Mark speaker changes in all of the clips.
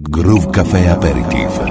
Speaker 1: Groove Café Aperitif.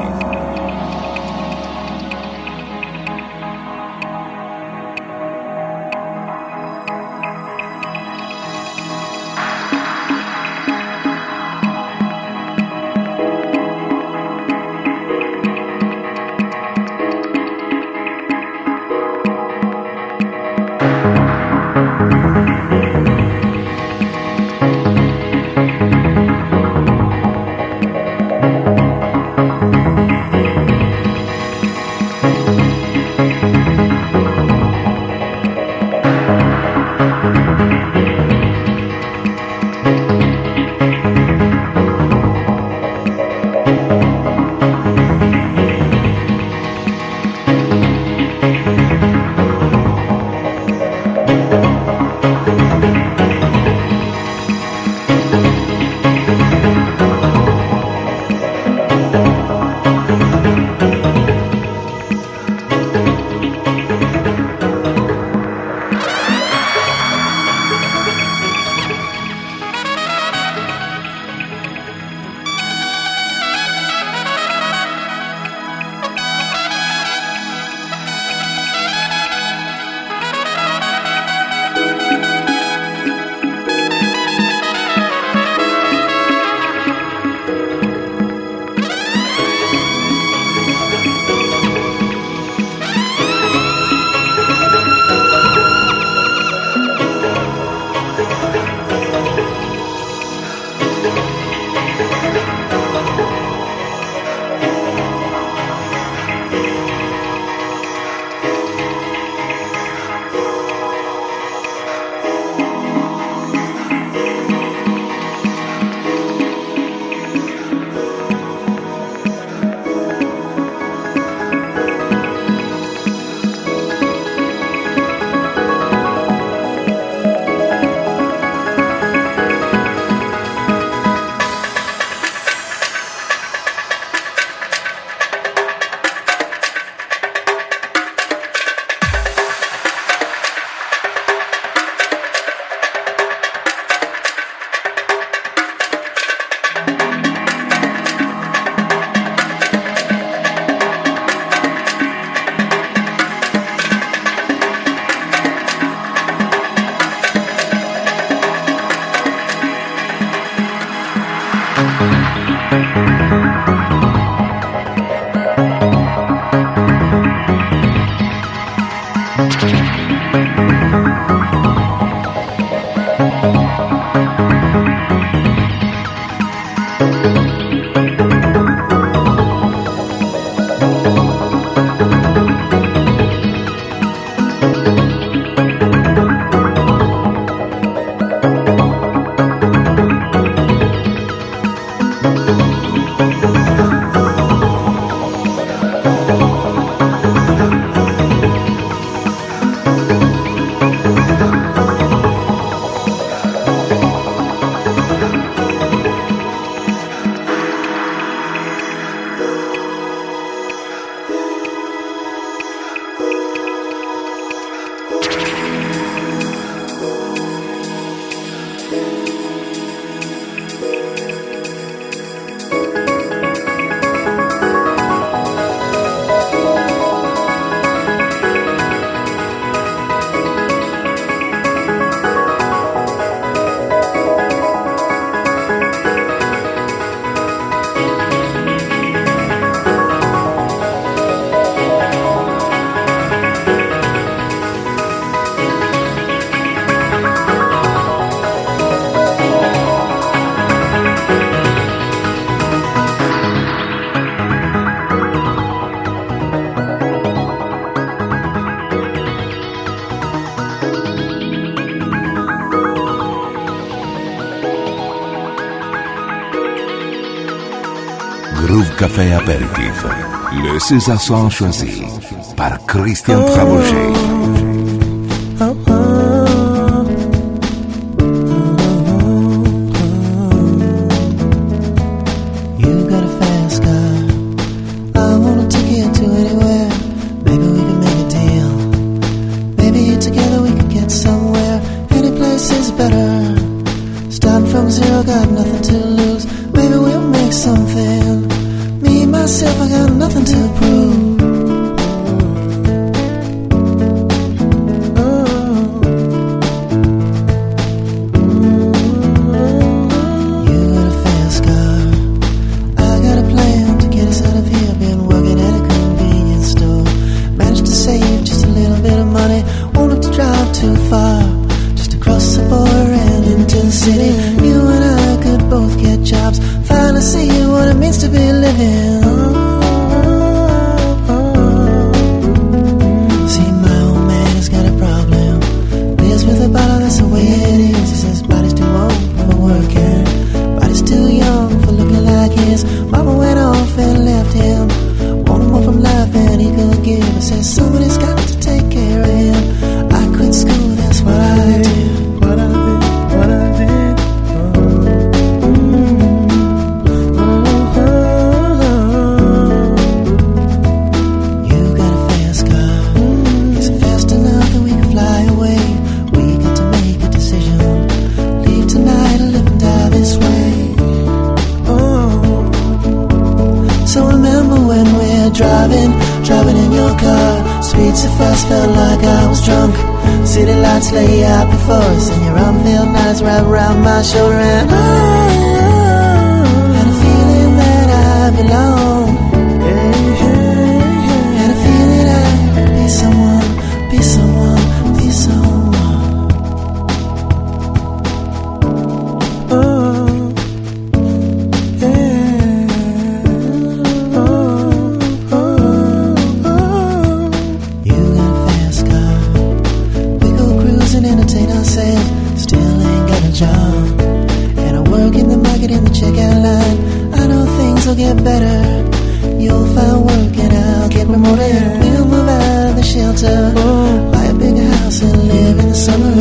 Speaker 1: Groove Café Aperitif. Le César choisi par Christian Trabouget.
Speaker 2: Starting from zero, got nothing to lose. Maybe we'll make some something. Me, myself, I got nothing to prove. Too far, just across the border and into the city. You and I could both get jobs. Finally see what it means to be living. See, my old man has got a problem. Lives with a bottle, that's the way it is. He says body's too old for working, body's too young for looking like his. Mama went off and left him, wanted more from life than he could give. I said somebody's got to take care of him. Quit school, that's what I did. What I did, what I did. You got a fast car. Is it fast enough that we can fly away? We got to make a decision. Leave tonight or live and die this way. So remember when we're driving in your car. Speed so fast, felt like I was drunk. City lights lay out before us, and your arm felt nice wrapped around my shoulder. And I had a feeling that I belong. Had a feeling I could be someone, be someone, be someone. Oh, yeah. You got a fast car. Entertain ourselves, still ain't got a job. And I work in the market in the checkout line. I know things will get better. You'll find work and I'll get promoted. We'll move out of the shelter, buy a bigger house and live in the summer.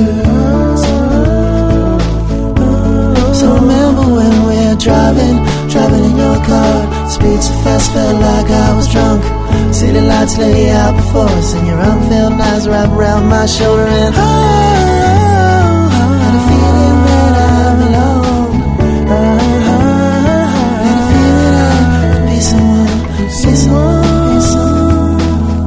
Speaker 2: So remember when we're driving in your car. Speed so fast, felt like I was drunk. City lights lay out before us, and your arm felt nice wrapped around my shoulder. And had a feeling that I belong. Had a feeling I could be someone, be someone, be someone.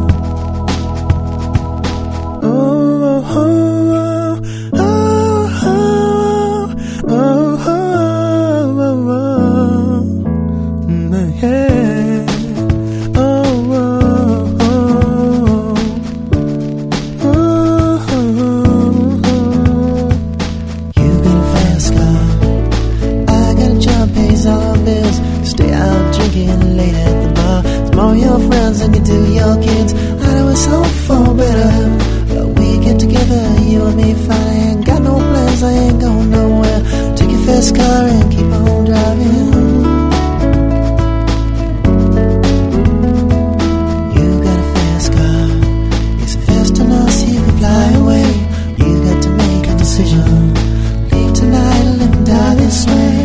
Speaker 2: Oh, oh, oh, oh, oh, oh, oh, oh, oh, yeah. Late at the bar, it's more your friends than you do your kids. I know it's hope for better, but we get together, you and me fine. I ain't got no plans, I ain't going nowhere. Take your fast car and keep on driving. You got a fast car. Is it fast enough so you can fly away? You got to make a decision. Leave tonight or live and die this way.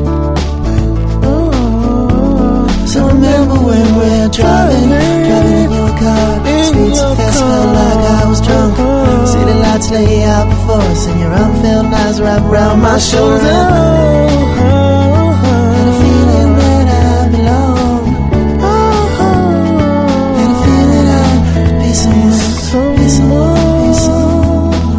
Speaker 2: So remember when we're driving in your car. Speed so fast, felt like I was drunk. City lights lay out before us, and your arm felt nice wrapped around my shoulder. Had a feeling that I belong. Had a feeling I could be someone, be someone, be someone.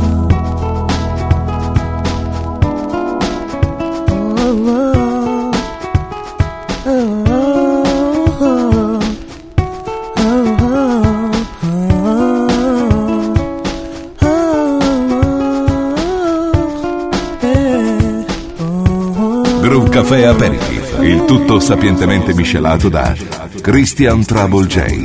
Speaker 1: Groove Café Aperitif, il tutto sapientemente miscelato da Christian Trouble J.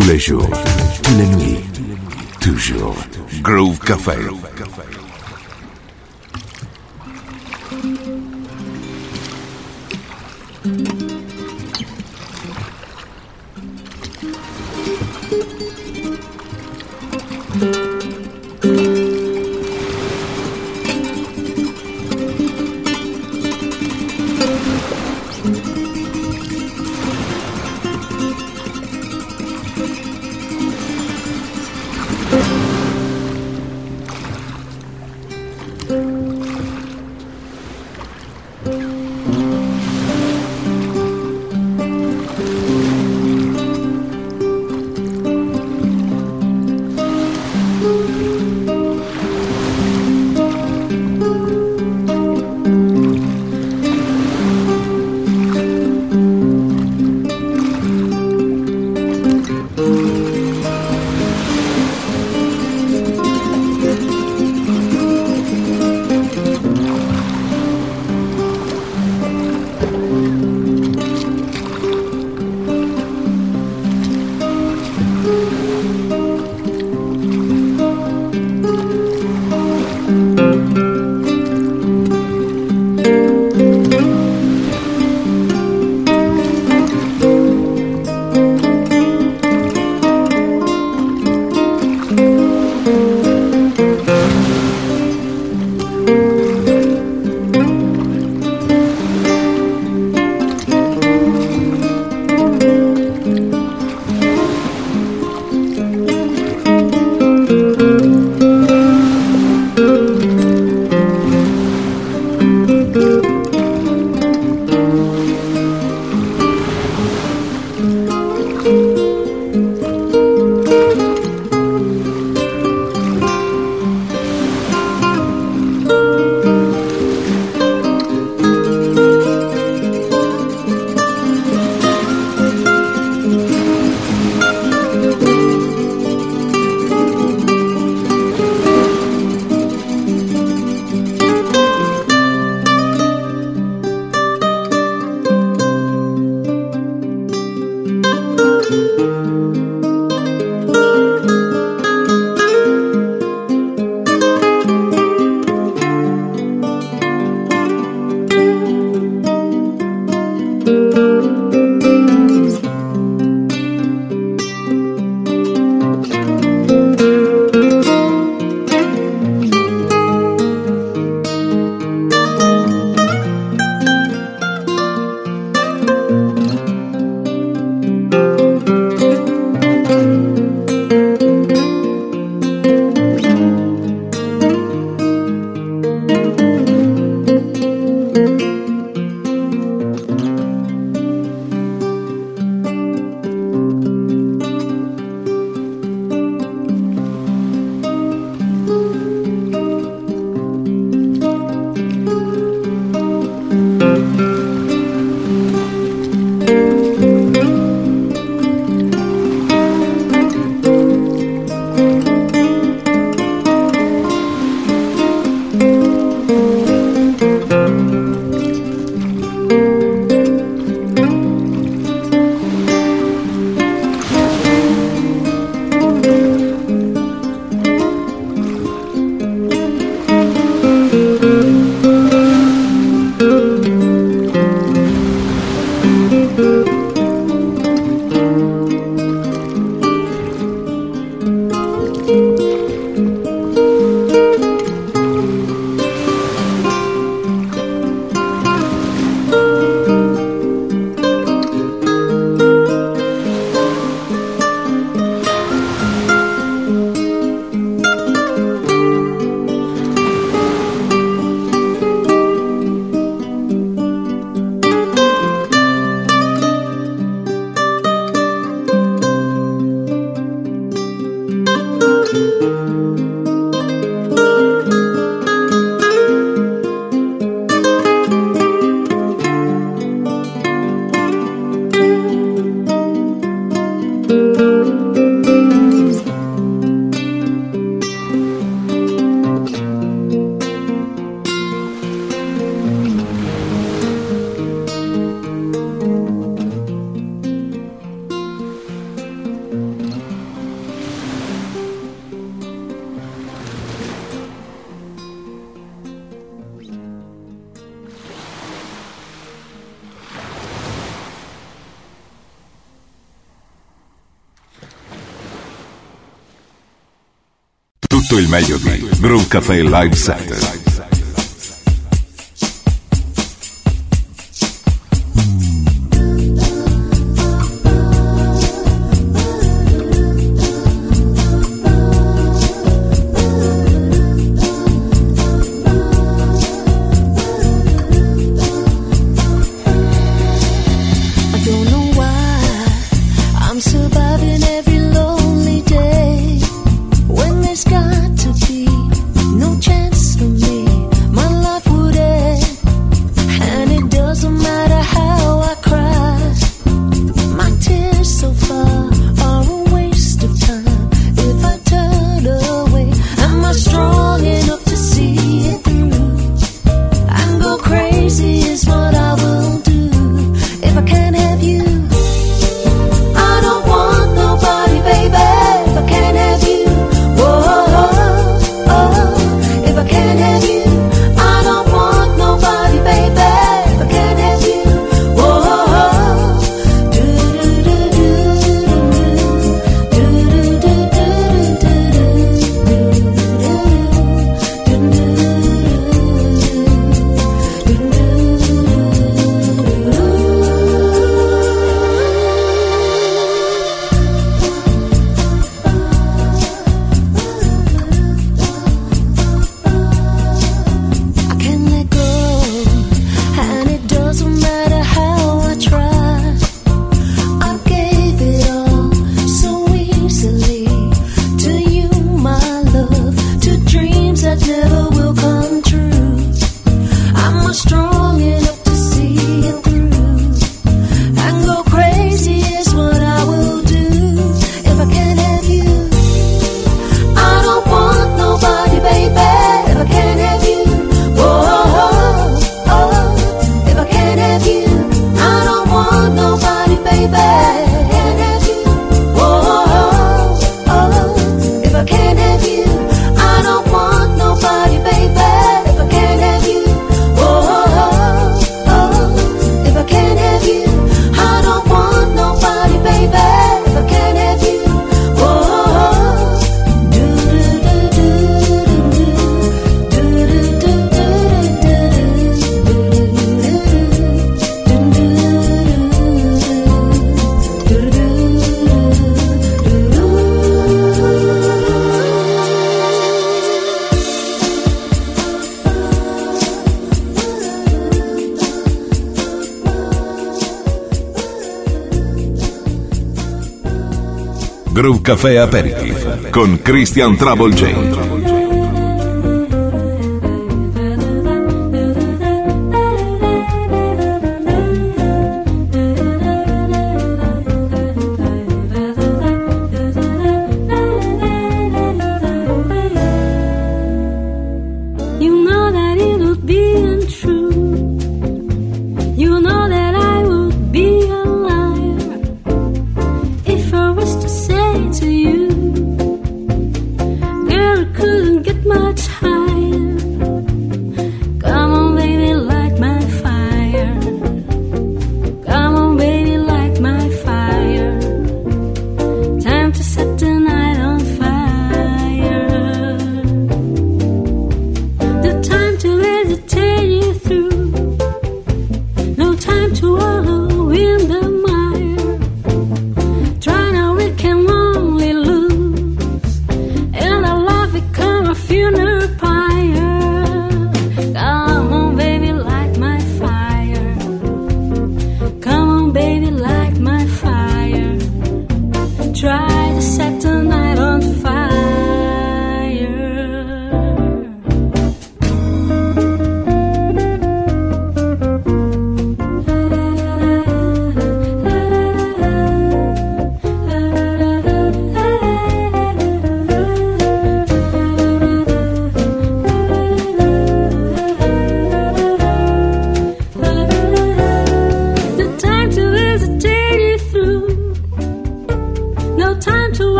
Speaker 1: tous les jours, toutes les nuits, toujours. Groove Café. Tutto il meglio di Groove Café Live Set. Groove Café Aperitif con Christian Trouble J.
Speaker 3: Could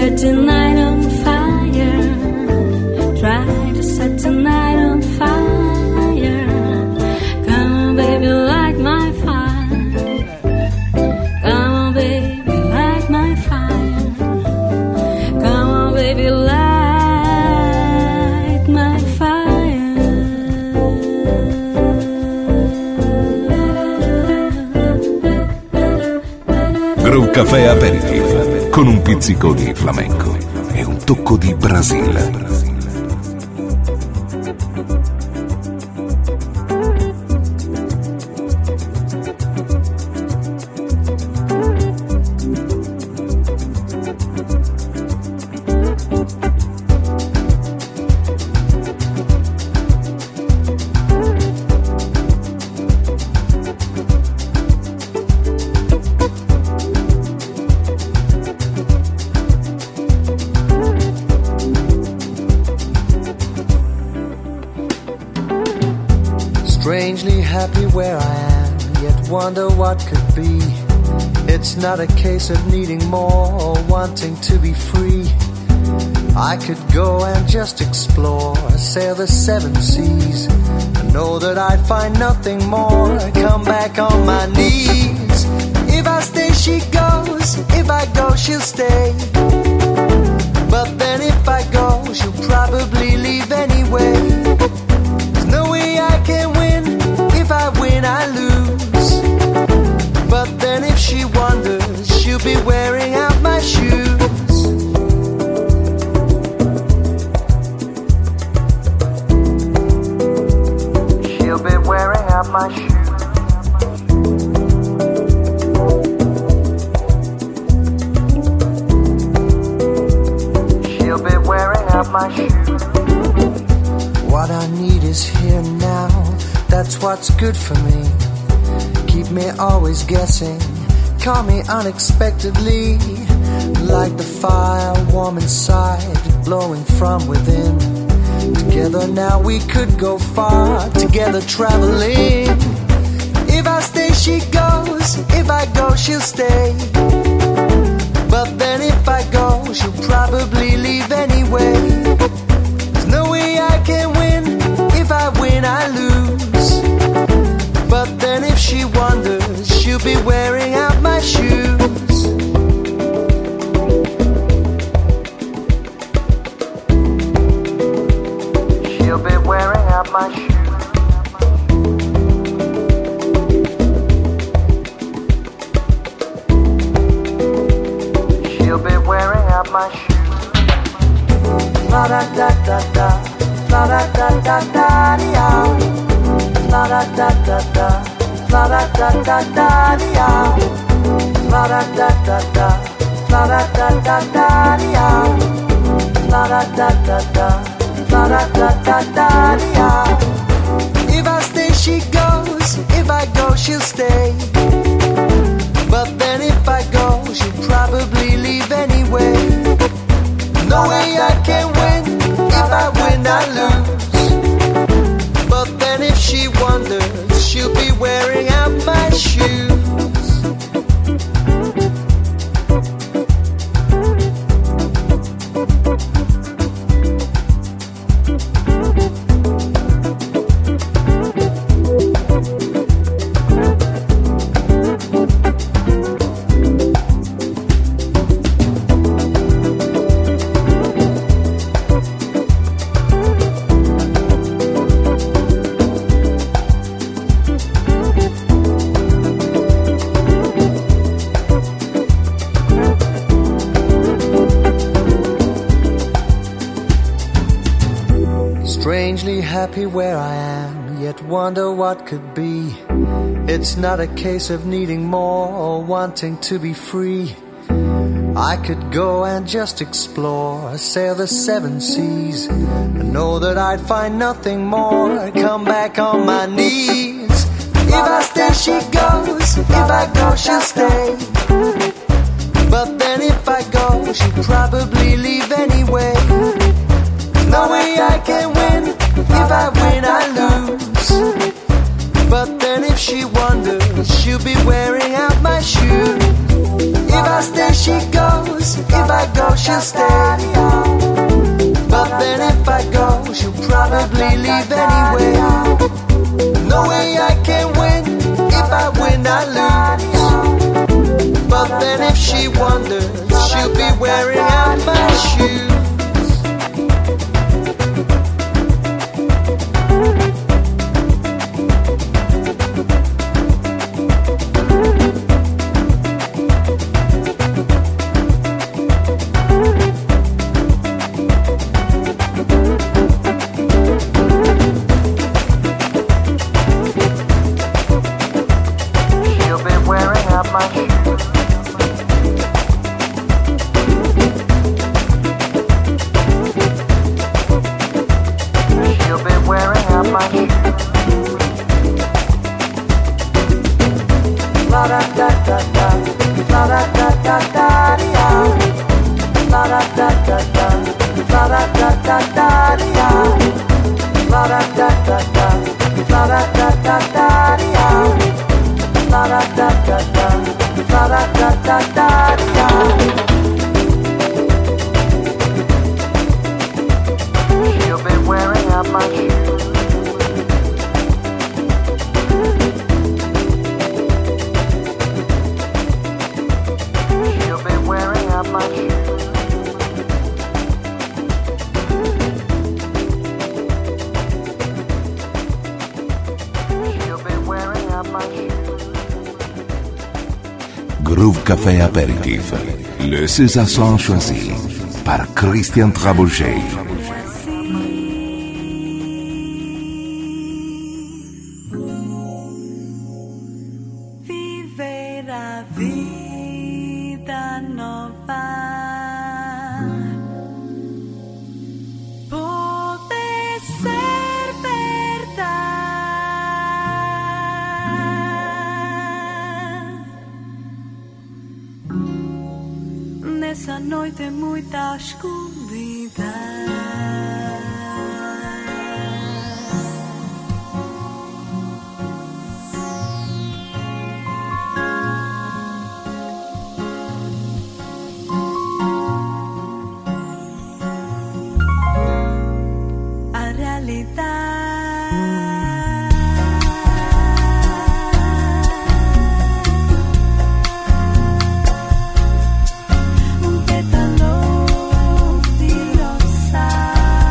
Speaker 3: set tonight on fire. Try to set tonight on fire. Come on, baby, light my fire. Come on, baby, light my fire. Come on, baby, light my fire.
Speaker 1: Groove Café Aperitif con un pizzico di flamenco e un tocco di Brasile.
Speaker 4: Strangely happy where I am, yet wonder what could be. It's not a case of needing more or wanting to be free. I could go and just explore, sail the seven seas. I know that I'd find nothing more, come back on my knees. If I stay, she goes. If I go, she'll stay. But then if I go, she'll probably leave anyway. There's no way I can win. If I win, I lose. But then if she wonders, she'll be wearing out my shoes. She'll be wearing out my shoes. She'll be wearing out my shoes. What I need is here now. That's what's good for me. Keep me always guessing. Call me unexpectedly. Like the fire warm inside, blowing from within. Together now we could go far. Together traveling. If I stay, she goes. If I go, she'll stay. But then if I go, she'll probably leave anyway. There's no way I can win. If I win, I lose. But then if she wonders, she'll be wearing out my shoes. She'll be wearing out my shoes. She'll be wearing out my shoes. La da da da da, la da da da da da. La da da da da, la da da da da da. La da da da da, la da da da da da. La da da da da, la da da da da da. If I stay, she goes. If I go, she'll stay. But then if I go, she'll probably leave anyway. No way I can win. If I win, I lose. But then if she wonders, she'll be wearing out my shoes. Strangely happy where I am, yet wonder what could be. It's not a case of needing more or wanting to be free. I could go and just explore, sail the seven seas. I know that I'd find nothing more, come back on my knees. If I stay, she goes. If I go, she'll stay. But then if I go, she'll probably leave anyway. No way I can win. If I win, I lose. But then if she wonders, she'll be wearing out my shoes. If I stay, she goes. If I go, she'll stay. But then if I go, she'll probably leave anyway. No way I can win. If I win, I lose. But then if she wonders, she'll be wearing out my shoes.
Speaker 1: Groove Café Apéritif, le César Son choisi par Christian Trabouget.
Speaker 3: Nessa noite muita escuridão. A realidade un pétalo di rosa.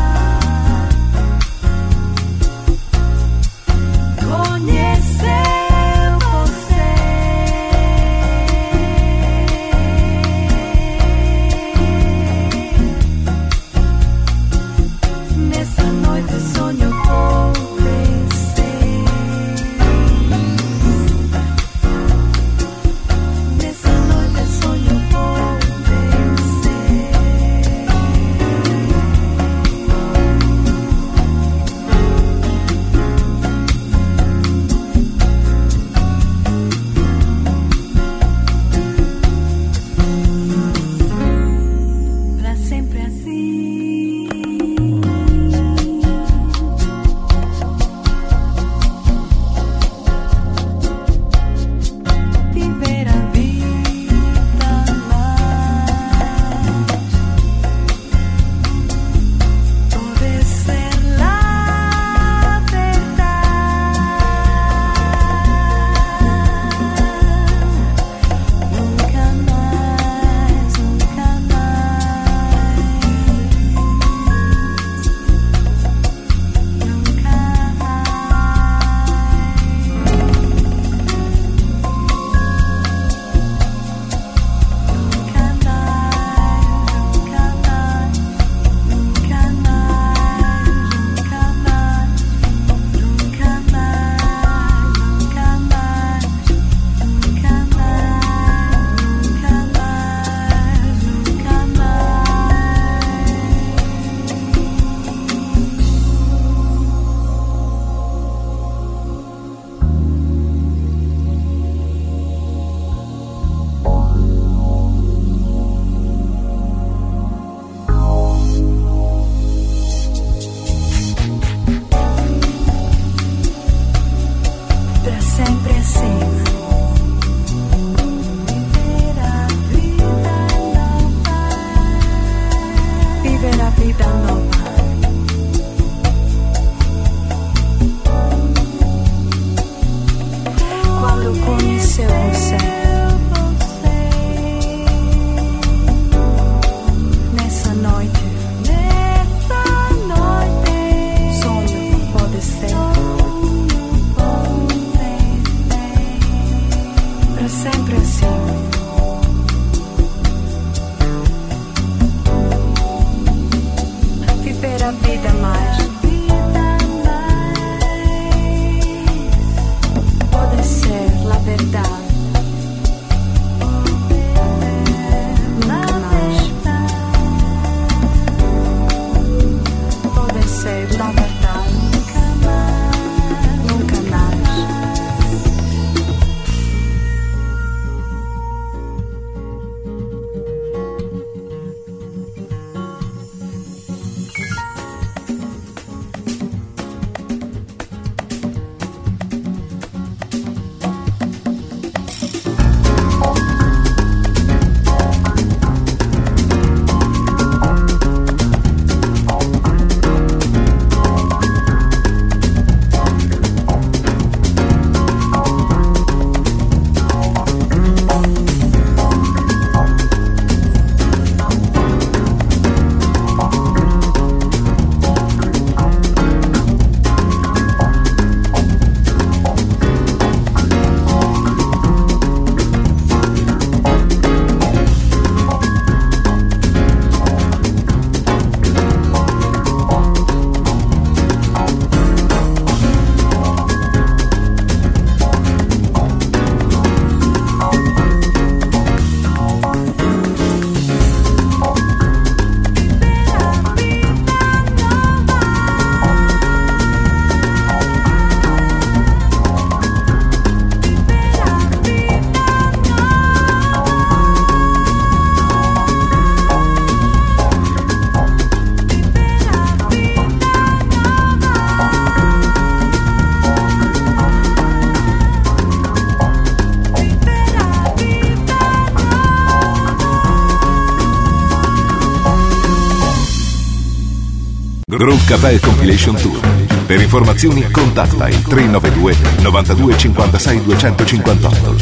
Speaker 1: Groove Café Compilation Tour. Per informazioni contatta il 392 92 56 258.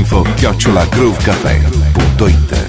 Speaker 1: info@groovecafé.it.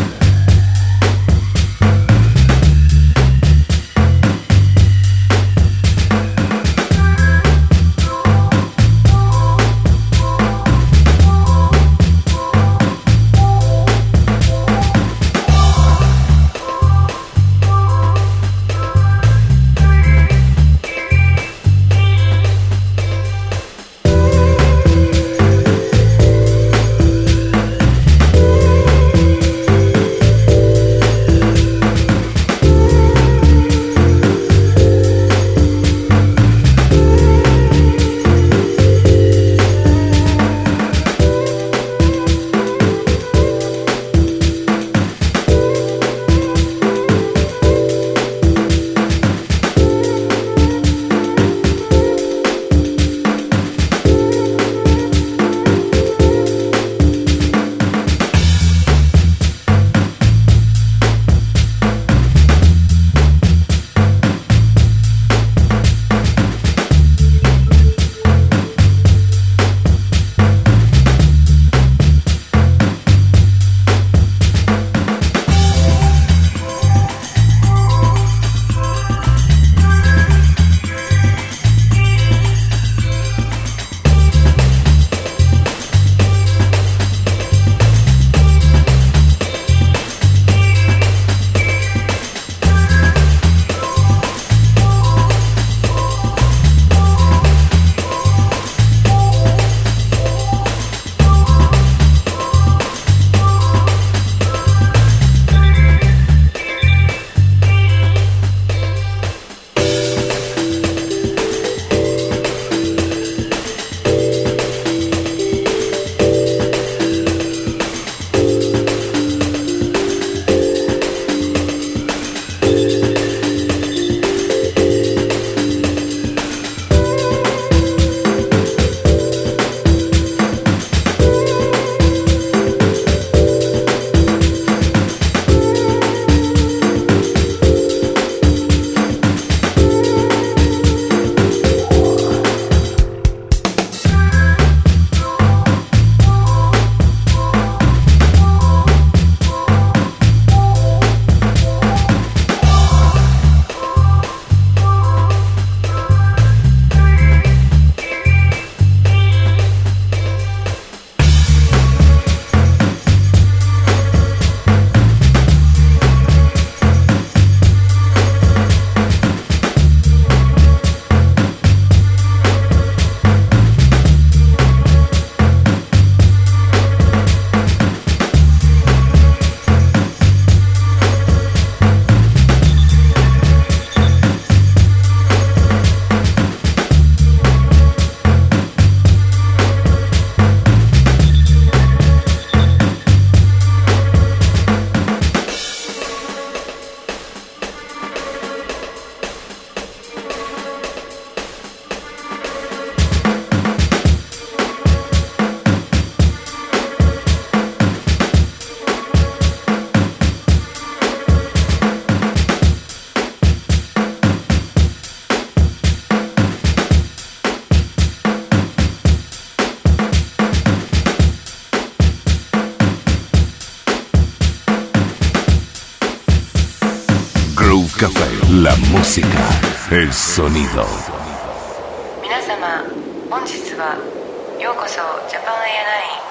Speaker 1: Café, la música, el sonido.
Speaker 5: 皆様、本日はようこそジャパンエアライン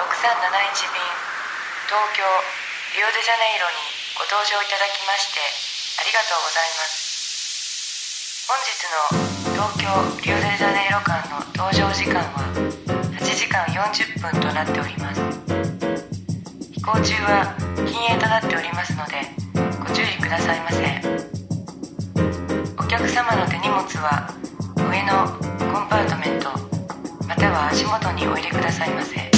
Speaker 5: 6371便東京リオデジャネイロにご搭乗いただきましてありがとうございます。本日の東京リオデジャネイロ間の搭乗時間は8時間40分となっております。飛行中は禁煙となっておりますのでご注意くださいませ。お客様の手荷物は上のコンパートメントまたは足元にお入れくださいませ。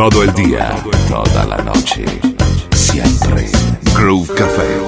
Speaker 1: todo el día, toda la noche, siempre. Groove Café.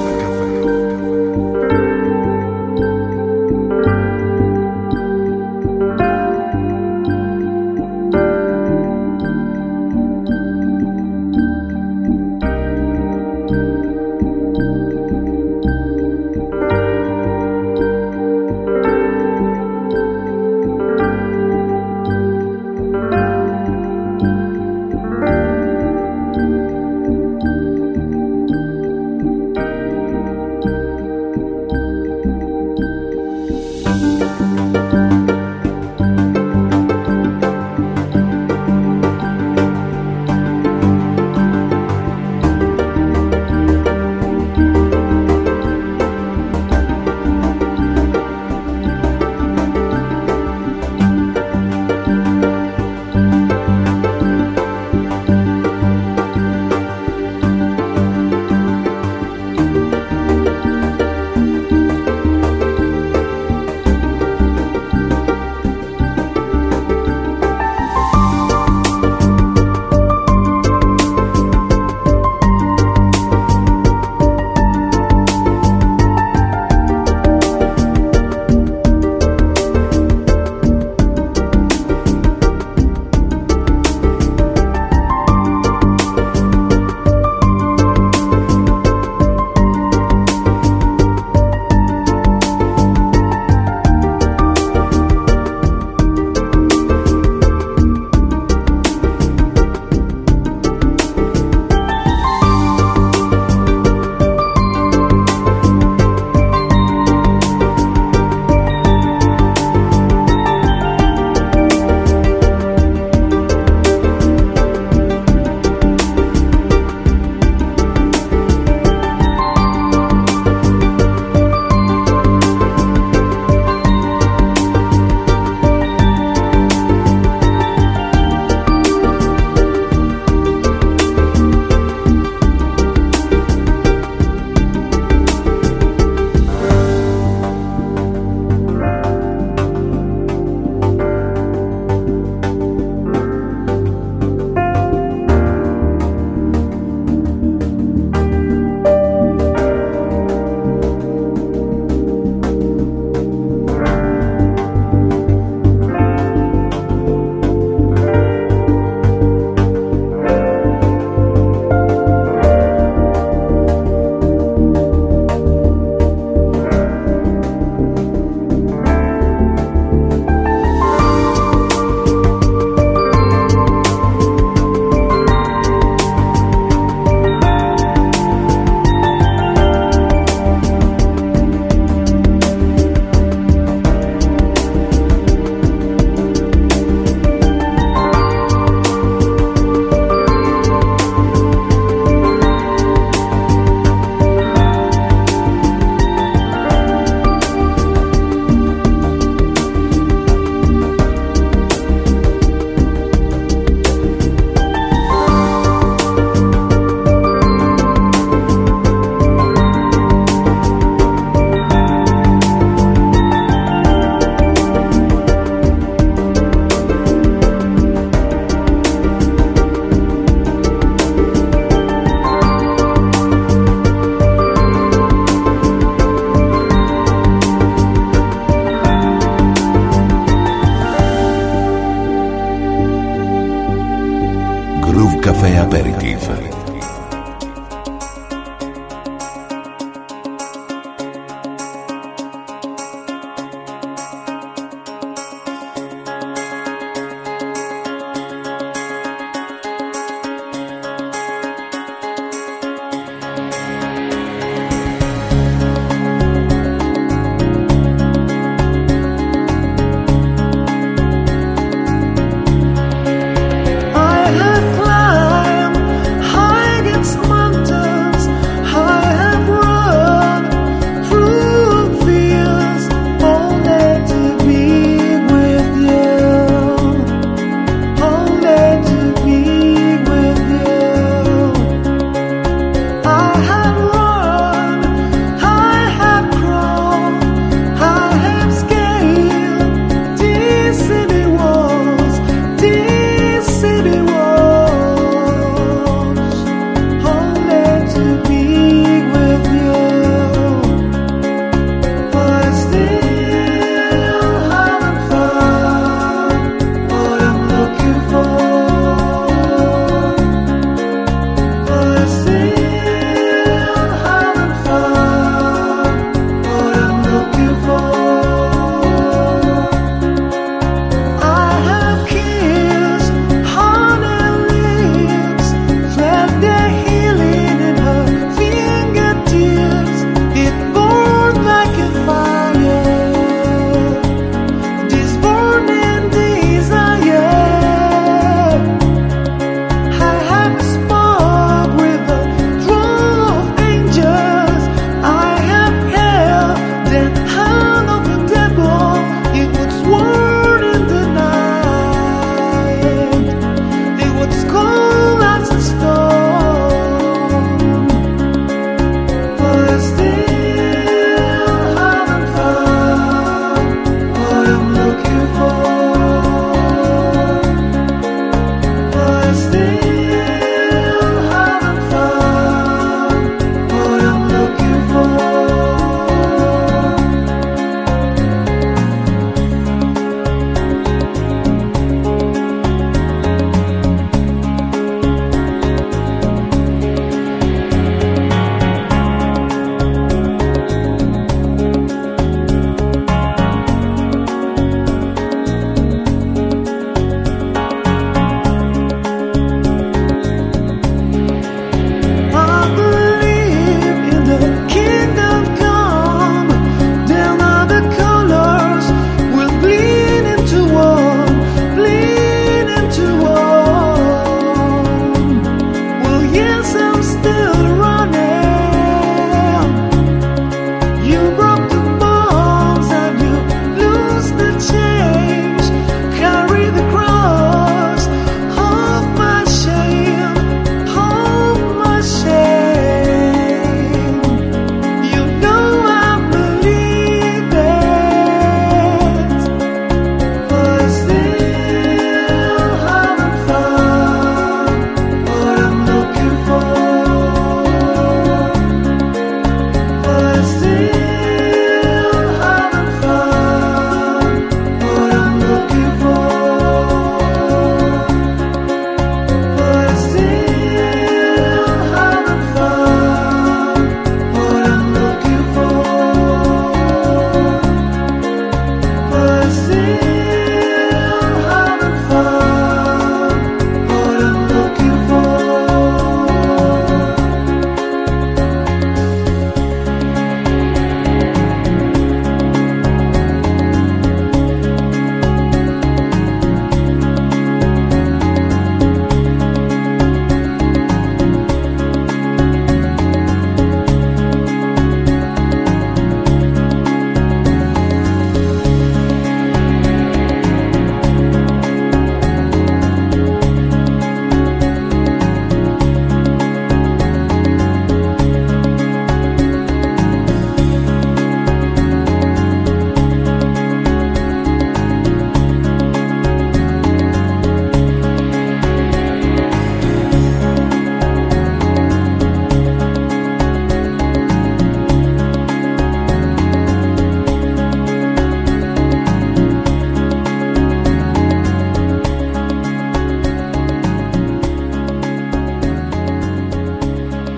Speaker 1: Café Aperitif.
Speaker 2: I have climbed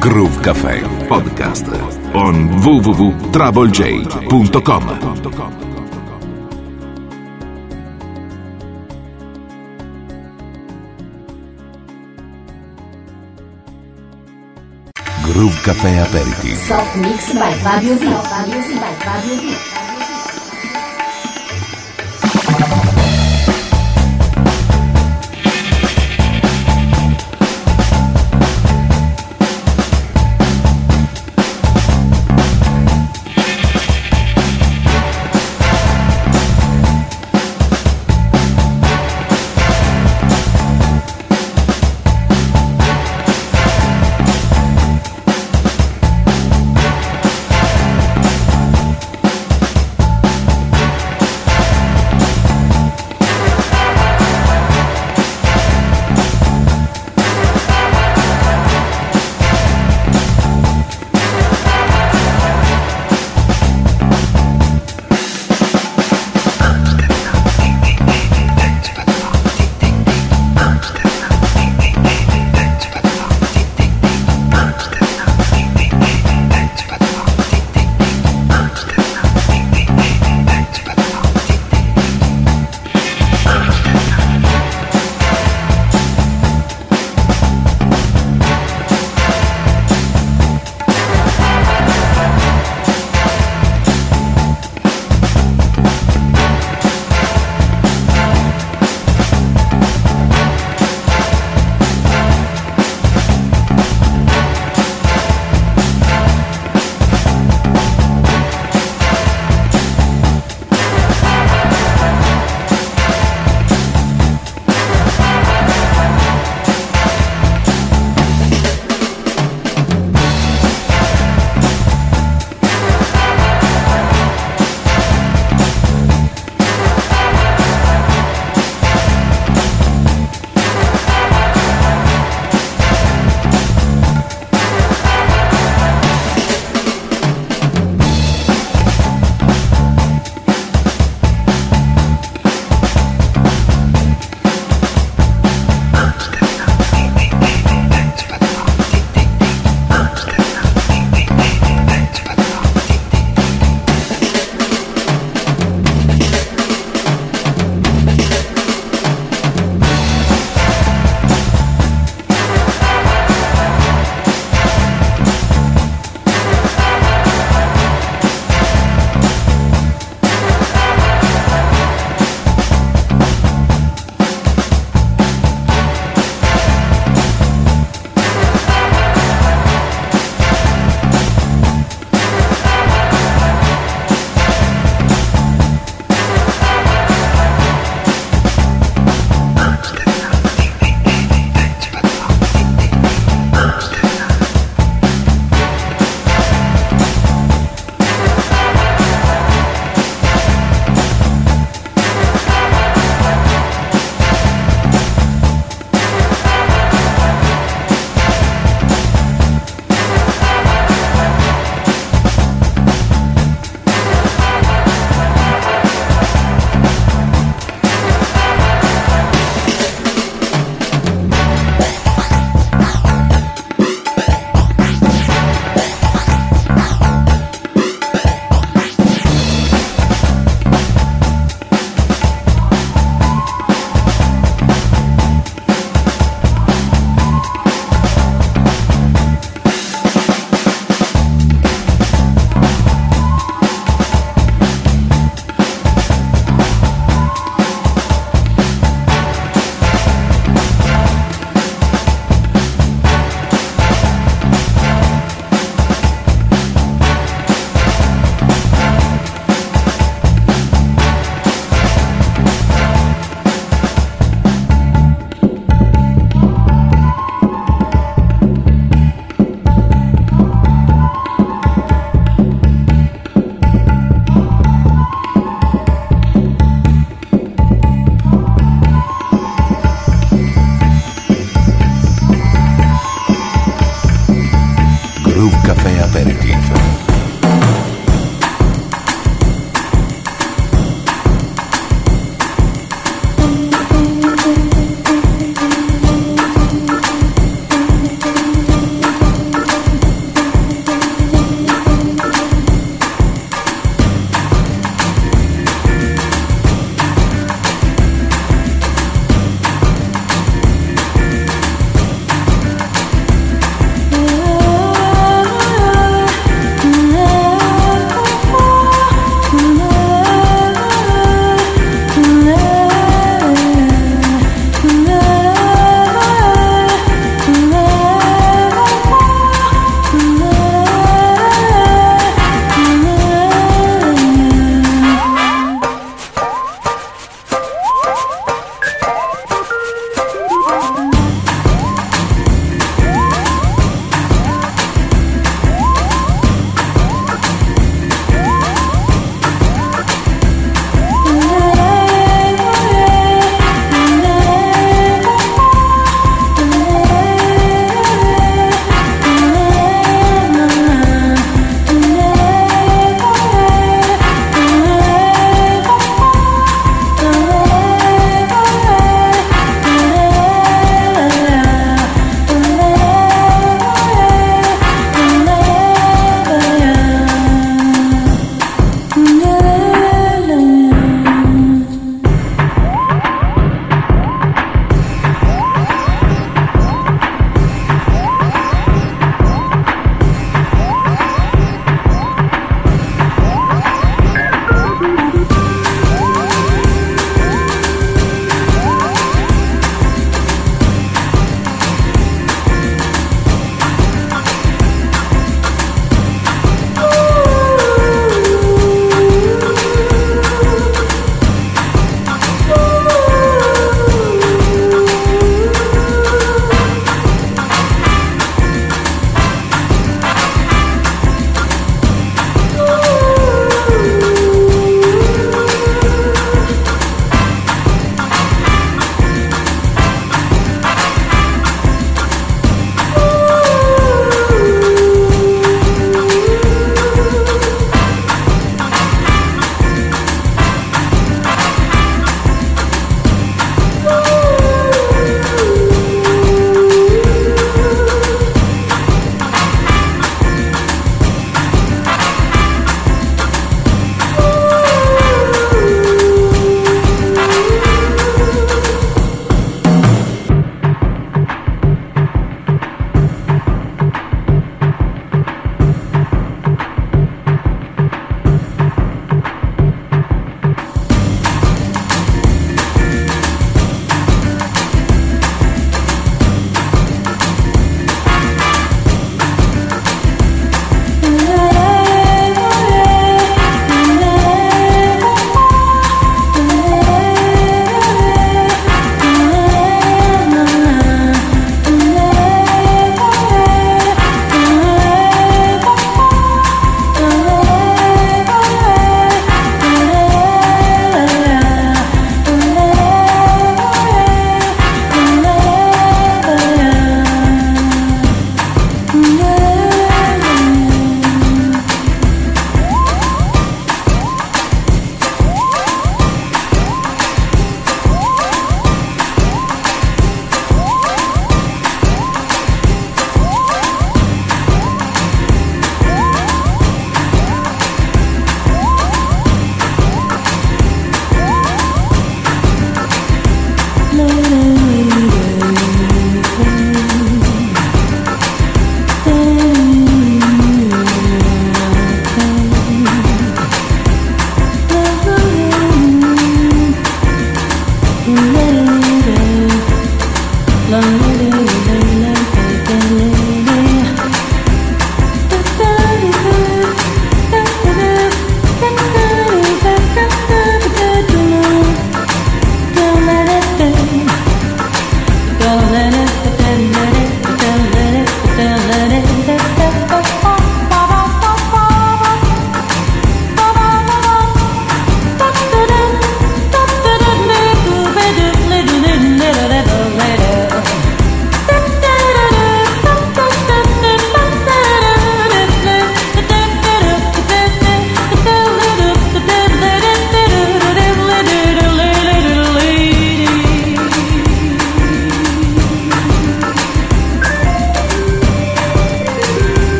Speaker 1: Groove Café Podcast on www.troublej.com. Groove Café Aperitif.
Speaker 6: Soft Mix by Fabio V.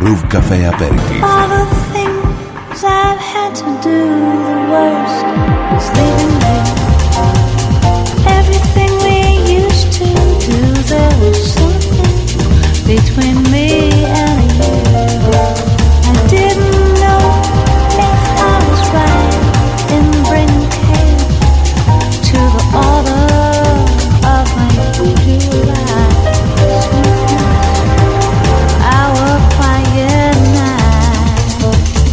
Speaker 1: Groove Café Aperitif.
Speaker 3: All the things I've had to do, the worst was leaving you. Everything we used to do, there was something between me and you. I didn't know if I was right in bringing chaos to the order of my usual life. Our quiet night.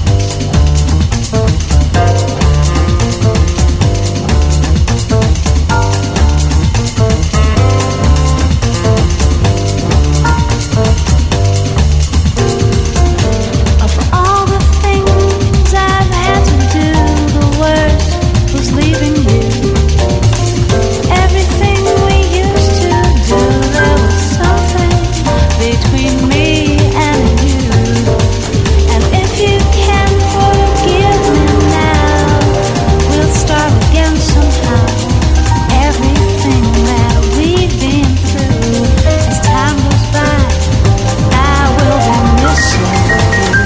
Speaker 3: Of all the things I've had to do, the worst was leaving you. Everything we used to do, there was something between me and you. And if you can forgive me now, we'll start again somehow. Everything that we've been through, as time goes by, I will be missing you.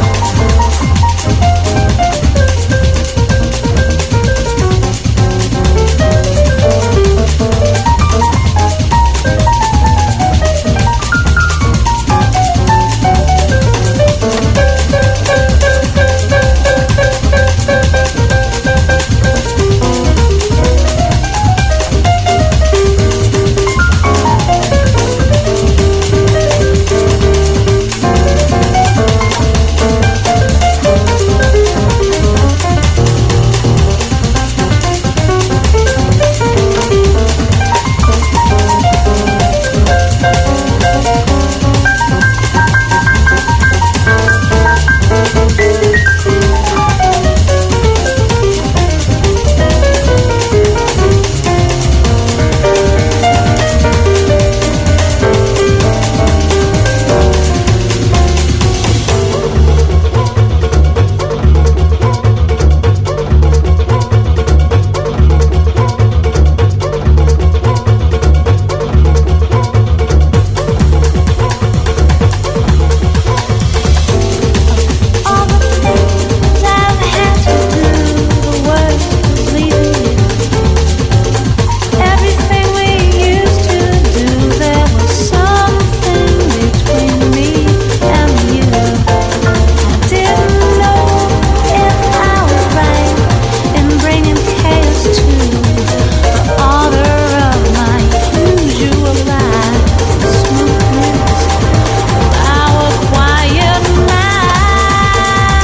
Speaker 3: All the things I've had to do, the worst was leaving you. Everything we used to do, there was something between me and you. I didn't know if I was right in bringing chaos to the order of my usual life. The smoothness of our quiet nights.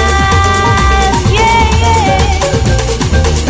Speaker 3: Yeah, yeah.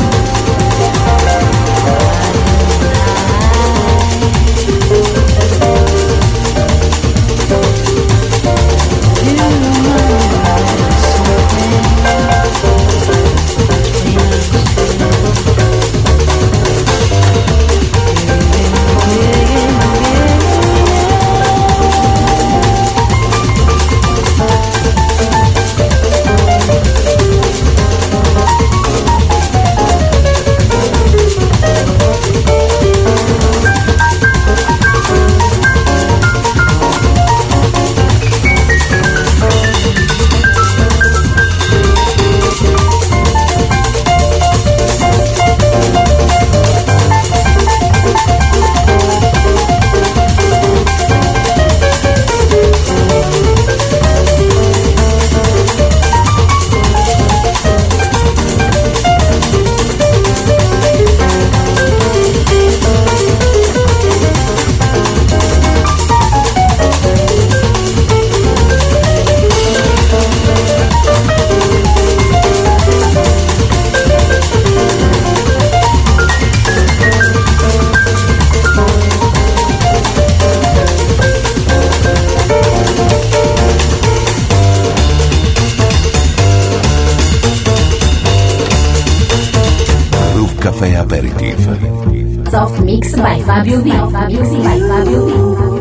Speaker 1: Groove Café Aperitif.
Speaker 6: Soft Mix by Fabio V. Music by Fabio V.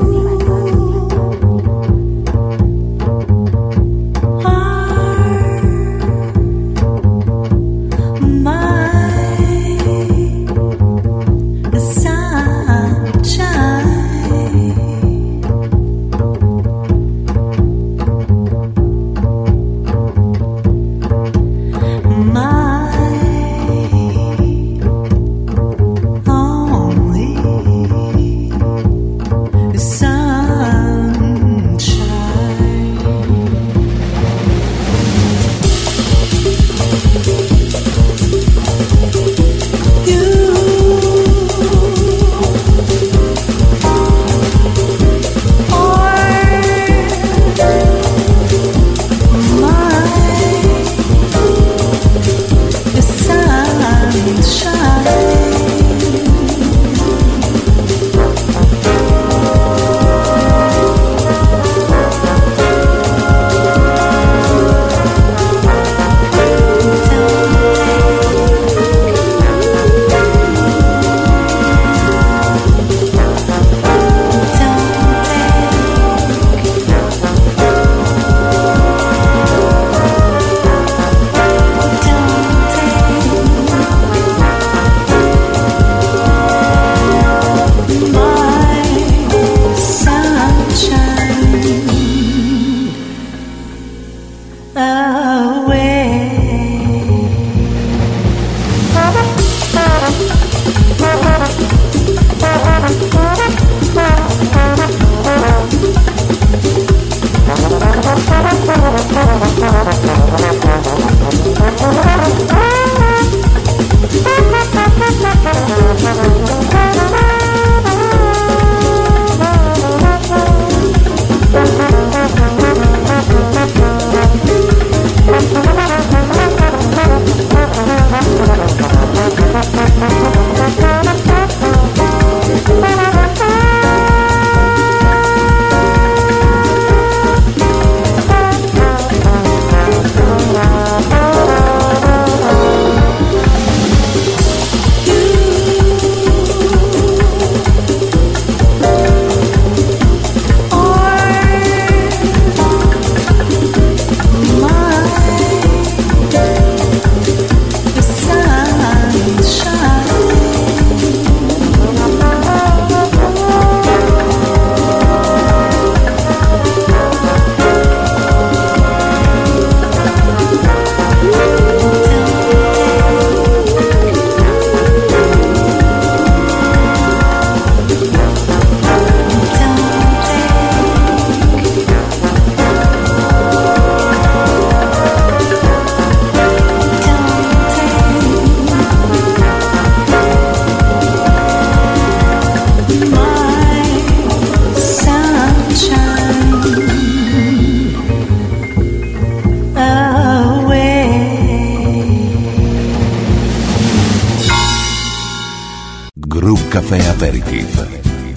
Speaker 3: Sunshine.
Speaker 1: Groove Café Aperitif.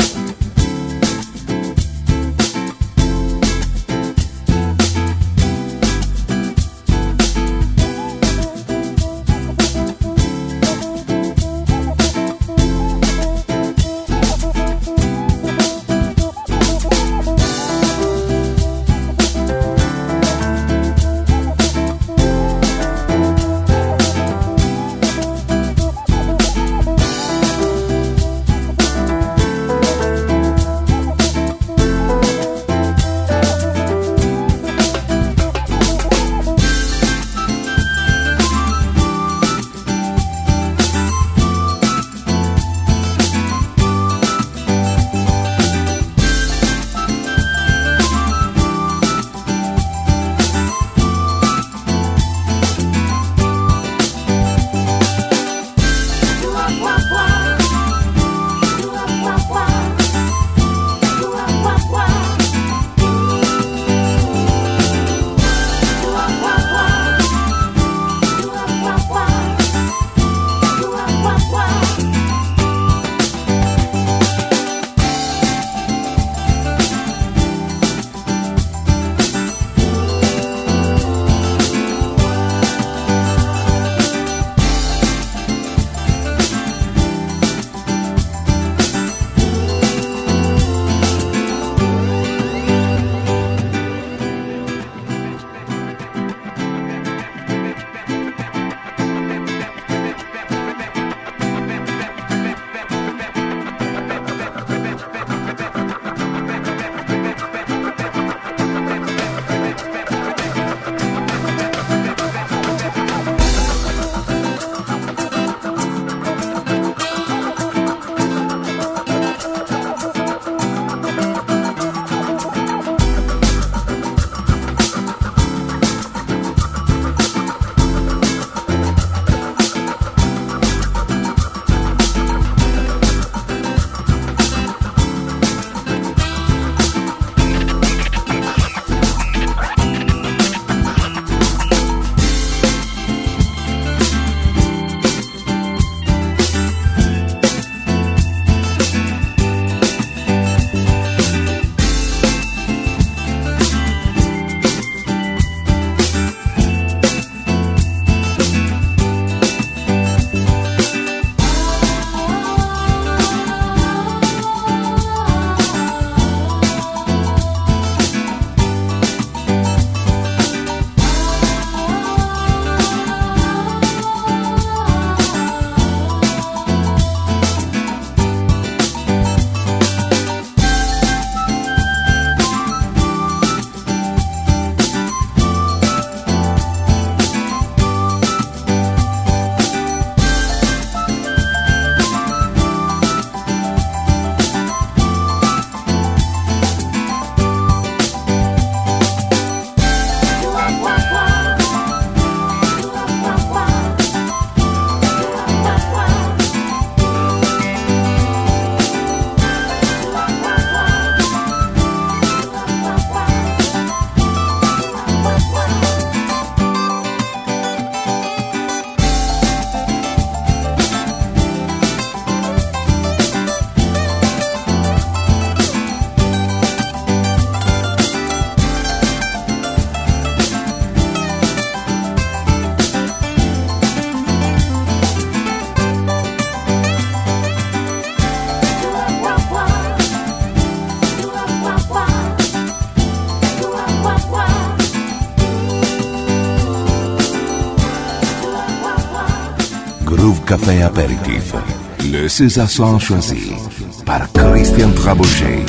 Speaker 1: Groove Café Aperitif. Le César Son choisi par Christian Trabouget.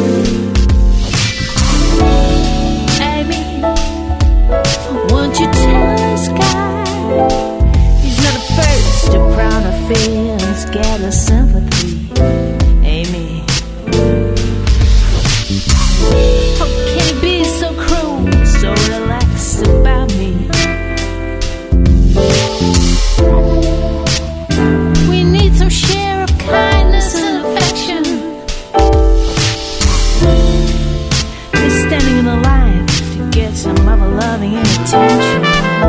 Speaker 3: Won't you
Speaker 7: loving and attention.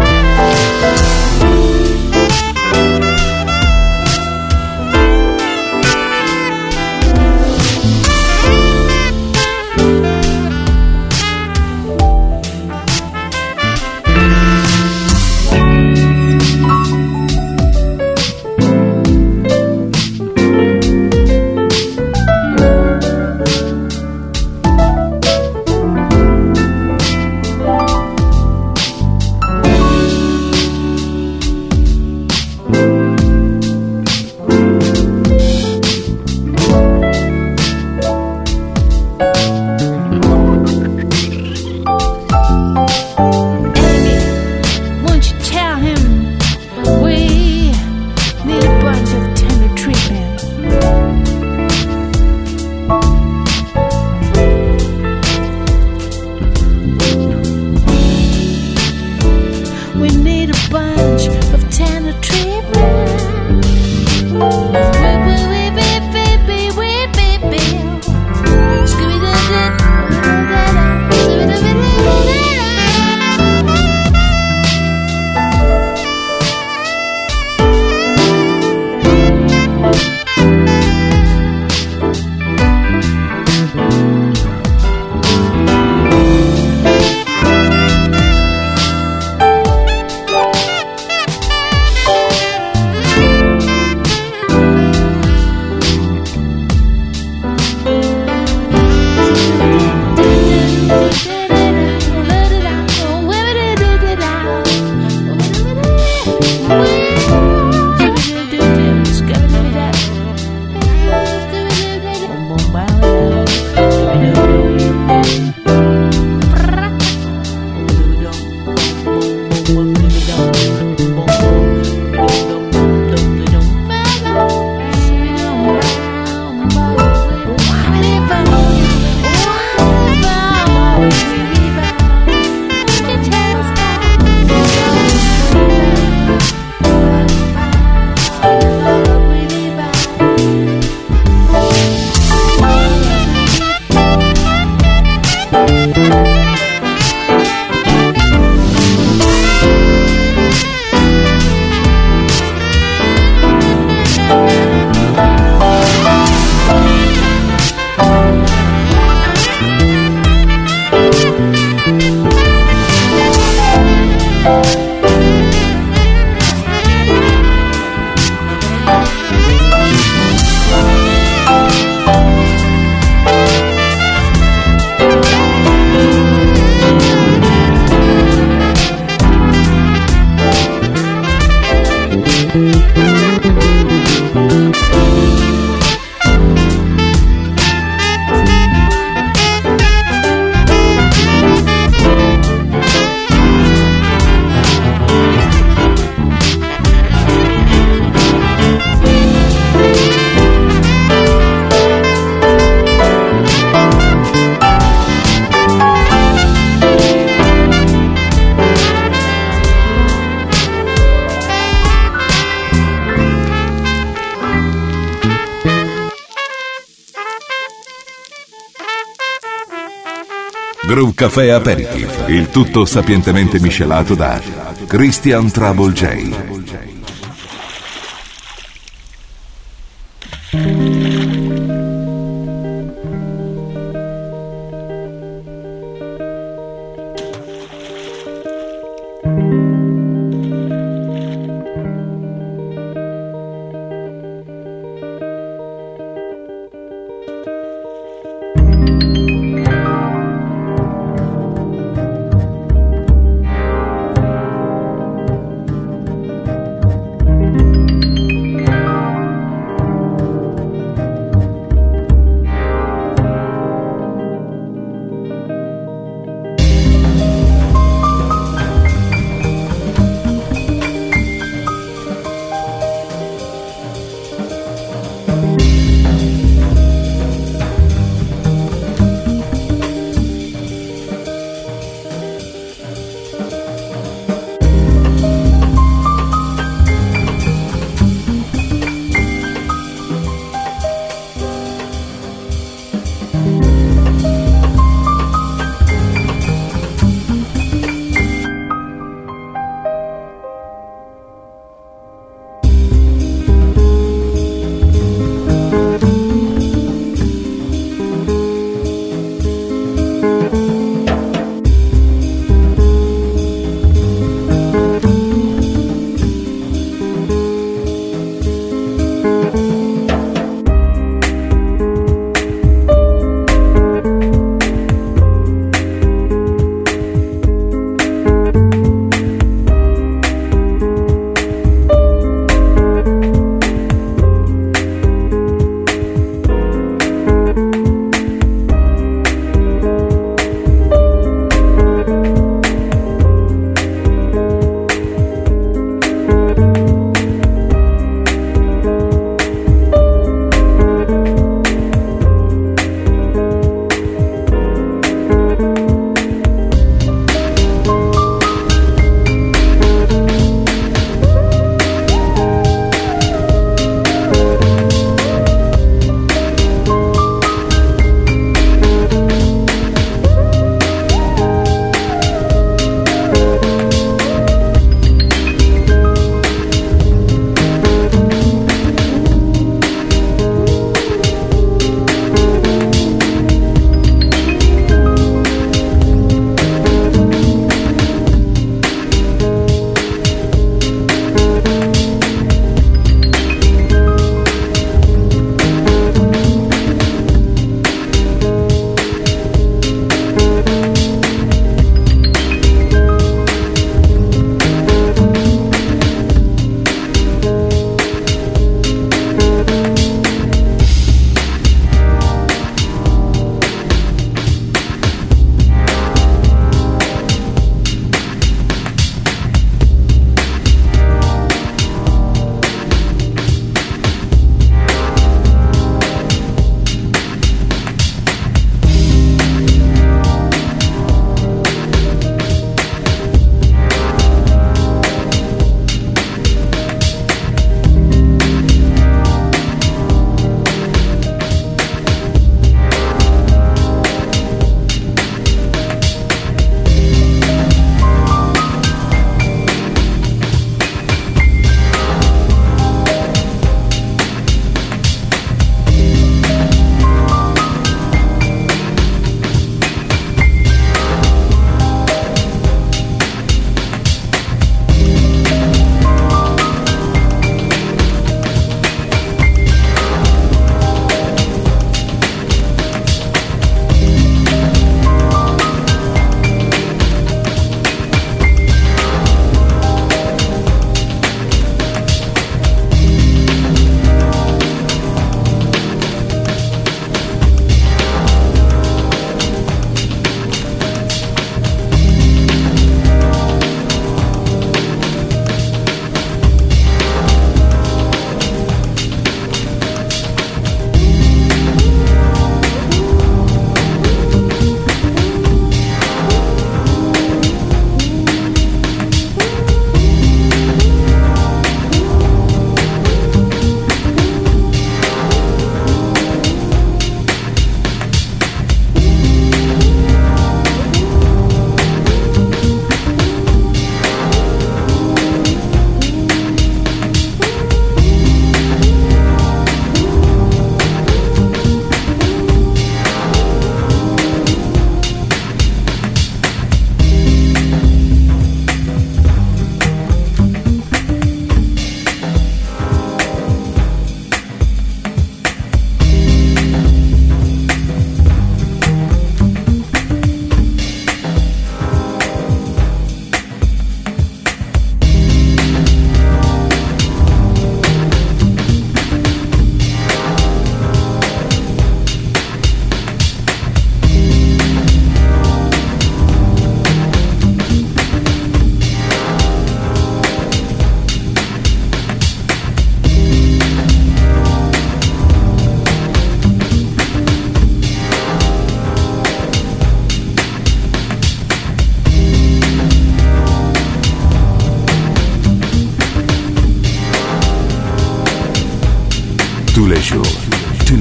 Speaker 1: Groove Café Aperitif, il tutto sapientemente miscelato da Christian Trouble J.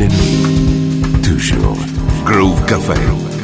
Speaker 1: les nuits, toujours Groove Café.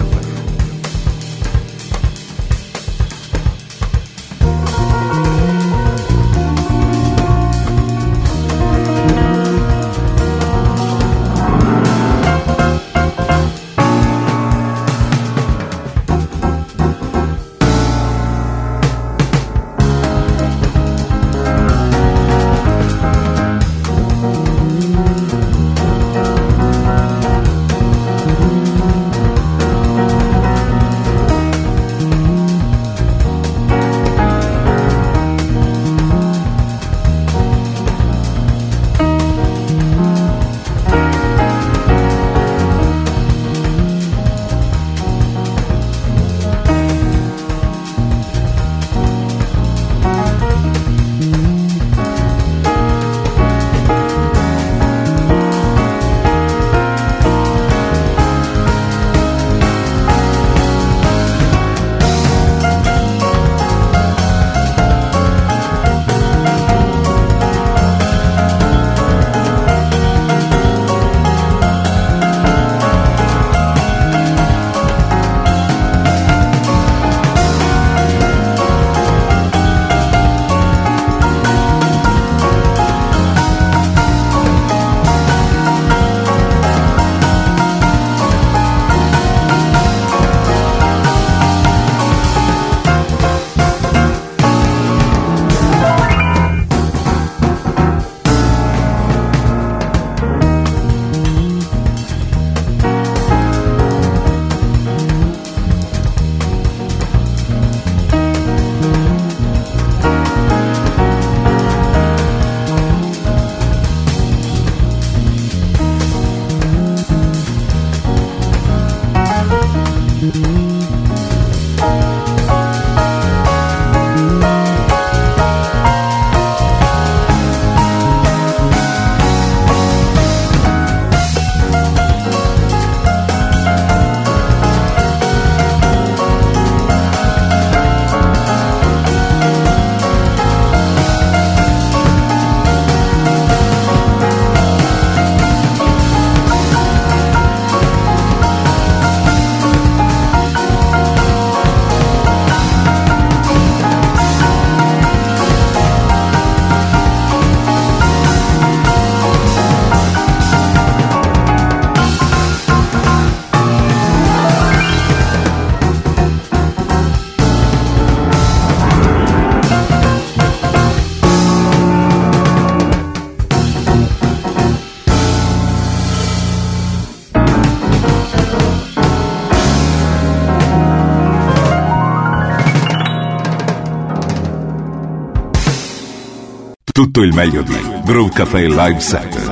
Speaker 1: Tutto il meglio di Groove Café Live Set.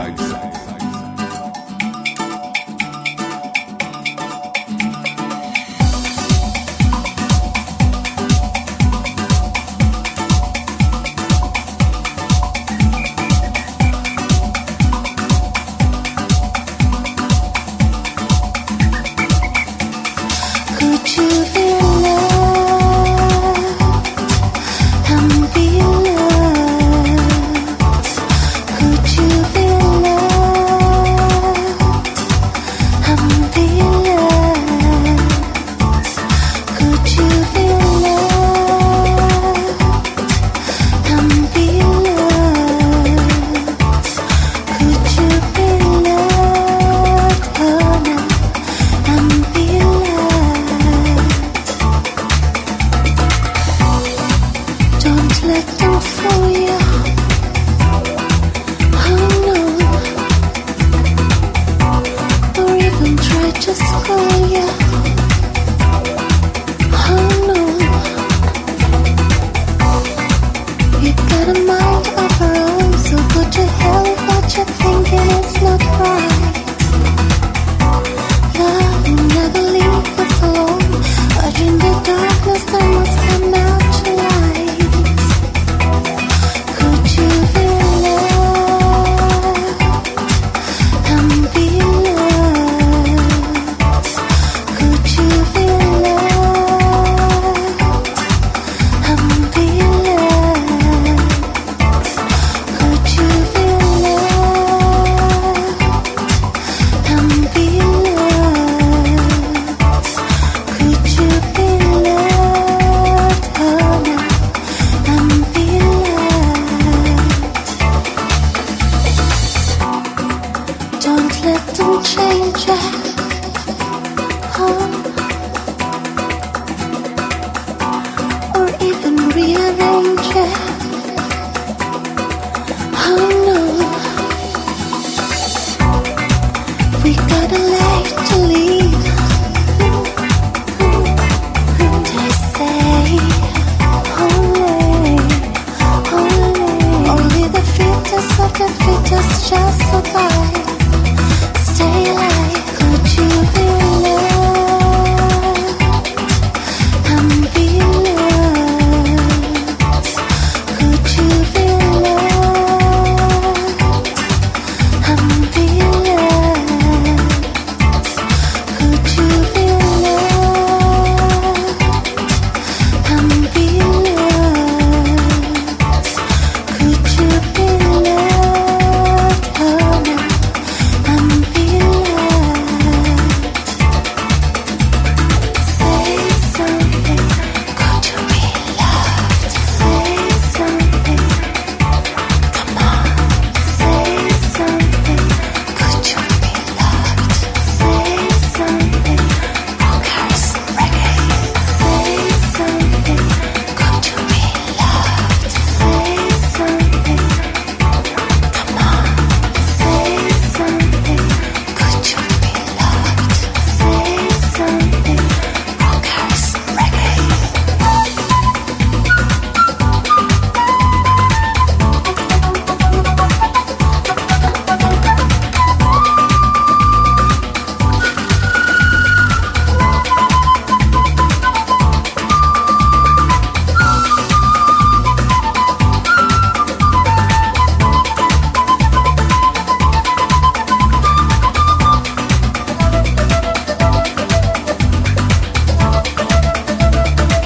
Speaker 7: Could you feel love?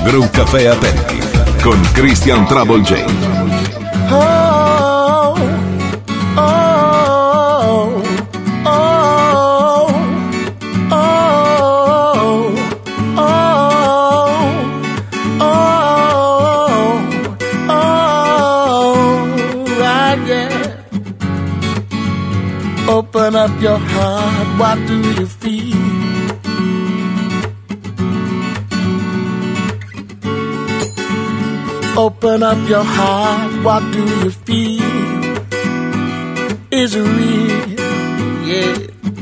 Speaker 1: Brew Café Aperitif con Christian Trouble J.
Speaker 7: Oh, oh, oh, oh, right, yeah. Open up your heart, what do you feel? Open up your heart, what do you feel? Is it real? Yeah.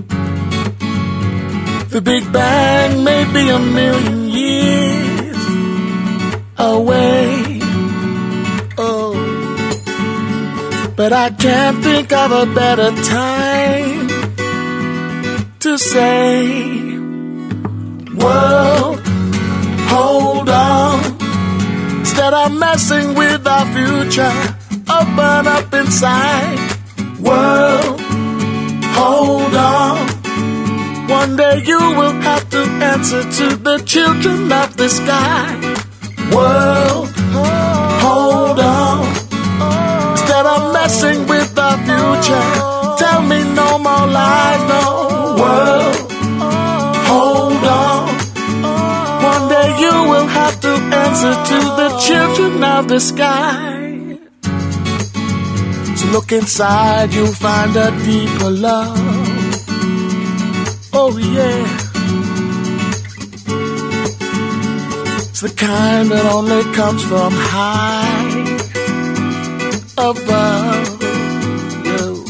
Speaker 7: The Big Bang may be a million years away. Oh, but I can't think of a better time to say, world, hold on. Instead of messing with our future, open up inside. World, hold on. One day you will have to answer to the children of the sky. World, hold on. Instead of messing with our future, tell me no more lies, no. World, hold on. One day you will have to answer to the children of the sky. So look inside, you'll find a deeper love. Oh yeah, it's the kind that only comes from high above you.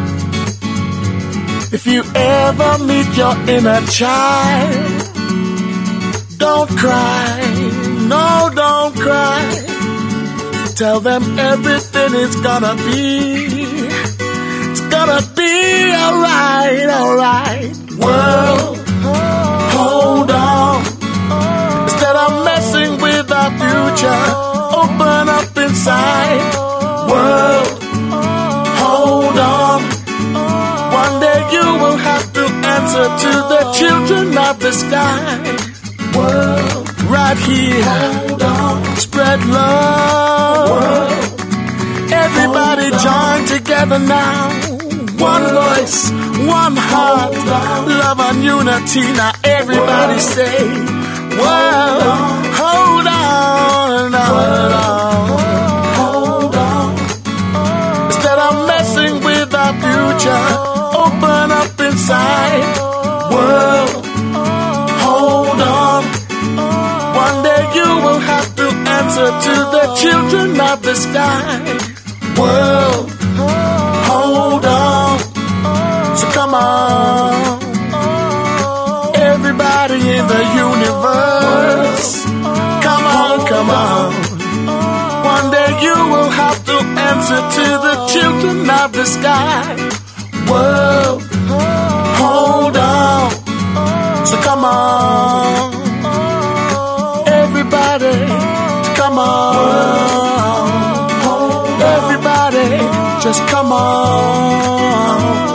Speaker 7: If you ever meet your inner child, don't cry, no, don't cry. Tell them everything is gonna be, it's gonna be alright, alright. World, hold on. Instead of messing with our future, open up inside. World, hold on. One day you will have to answer to the children of the sky. World, right here, hold on. Spread love. World, everybody join together now. One voice, one heart, love and unity. Now everybody say, world, hold on, hold on, hold on. Instead of messing with our future, open up inside. World, hold on. One day you will have to answer to the children of the sky. World, hold on. So come on, everybody in the universe. Come on, come on. One day you will have to answer to the children of the sky. World, hold on. So come on, everybody, come on. Everybody, just come on.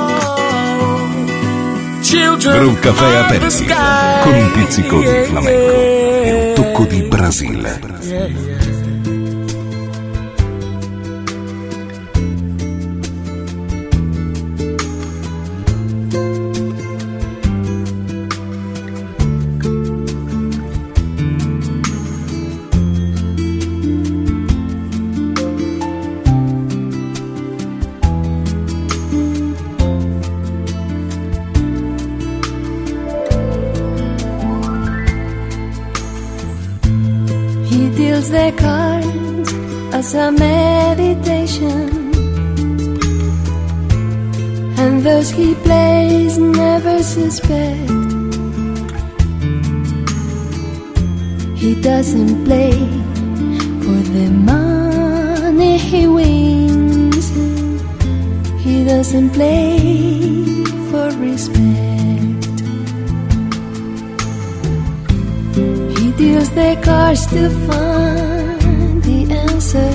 Speaker 1: Brew Café Aperitif con un pizzico di flamenco e un tocco di Brasile.
Speaker 3: The cards as a meditation, and those he plays never suspect. He doesn't play for the money he wins. He doesn't play for respect. He deals the cards to find the answer,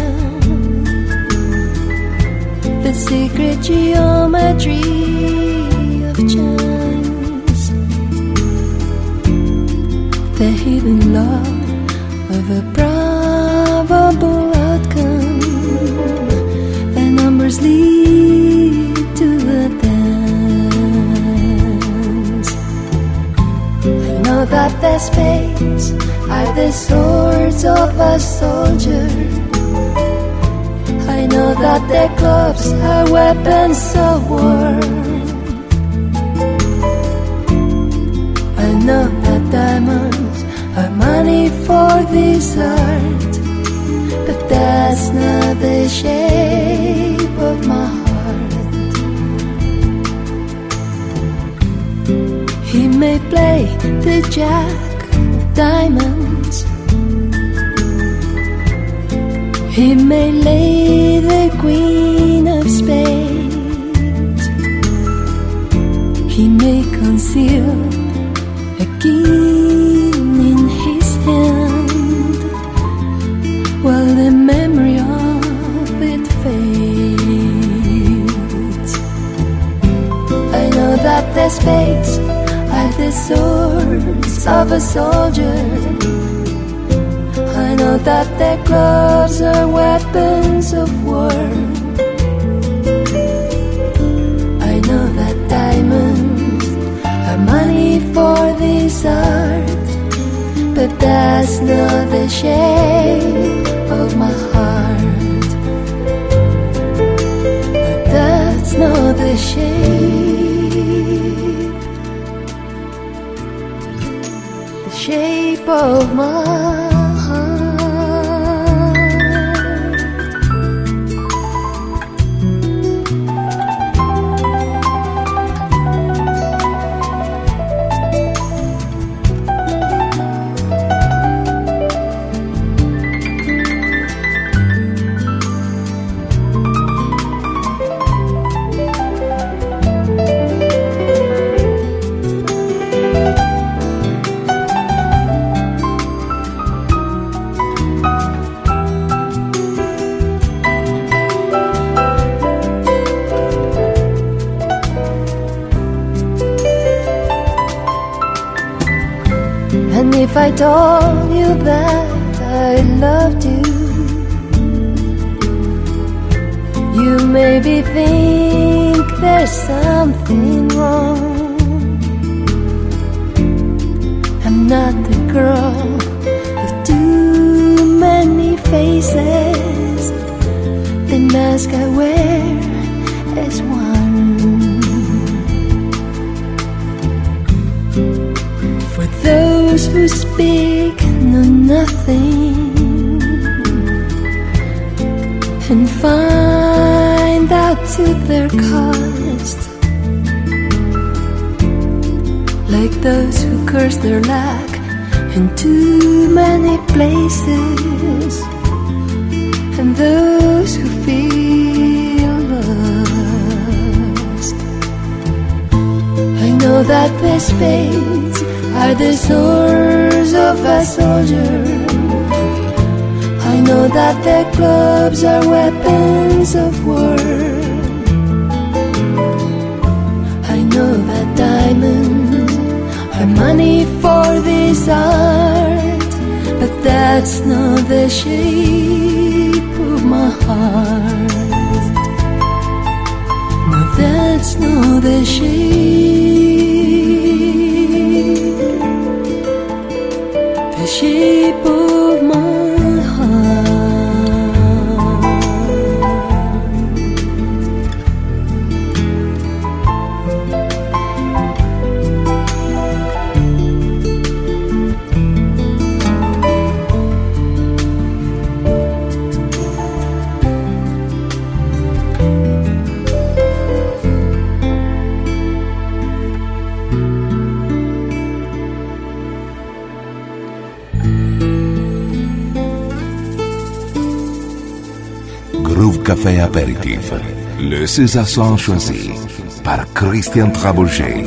Speaker 3: the secret geometry of chance, the hidden law of a probable outcome. The numbers lead to the dance. I know that the spades are the swords of a soldier. I know that the clubs are weapons of war. I know that diamonds are money for this art, but that's not the shape of my heart. He may play the jack of diamonds, he may lay the queen of spades, he may conceal a king in his hand, while the memory of it fades. I know that the spades are the swords of a soldier. I know that the clubs are weapons of war. I know that diamonds are money for this art, but that's not the shape of my heart. But that's not the shape of my heart. And if I told you that I loved you, you maybe think there's something wrong. I'm not the girl with too many faces. The mask I wear is one. For those who speak know nothing and find out to their cost, like those who curse their lack in too many places, and those who feel lost. I know that the spades are the swords of a soldier. I know that the clubs are weapons of war. I know that diamonds are money for this art, but that's not the shape of my heart. No, that's not the shape of my
Speaker 1: Groove Café Apéritif, le César son choisi par Christian Trabouget.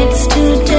Speaker 3: nights to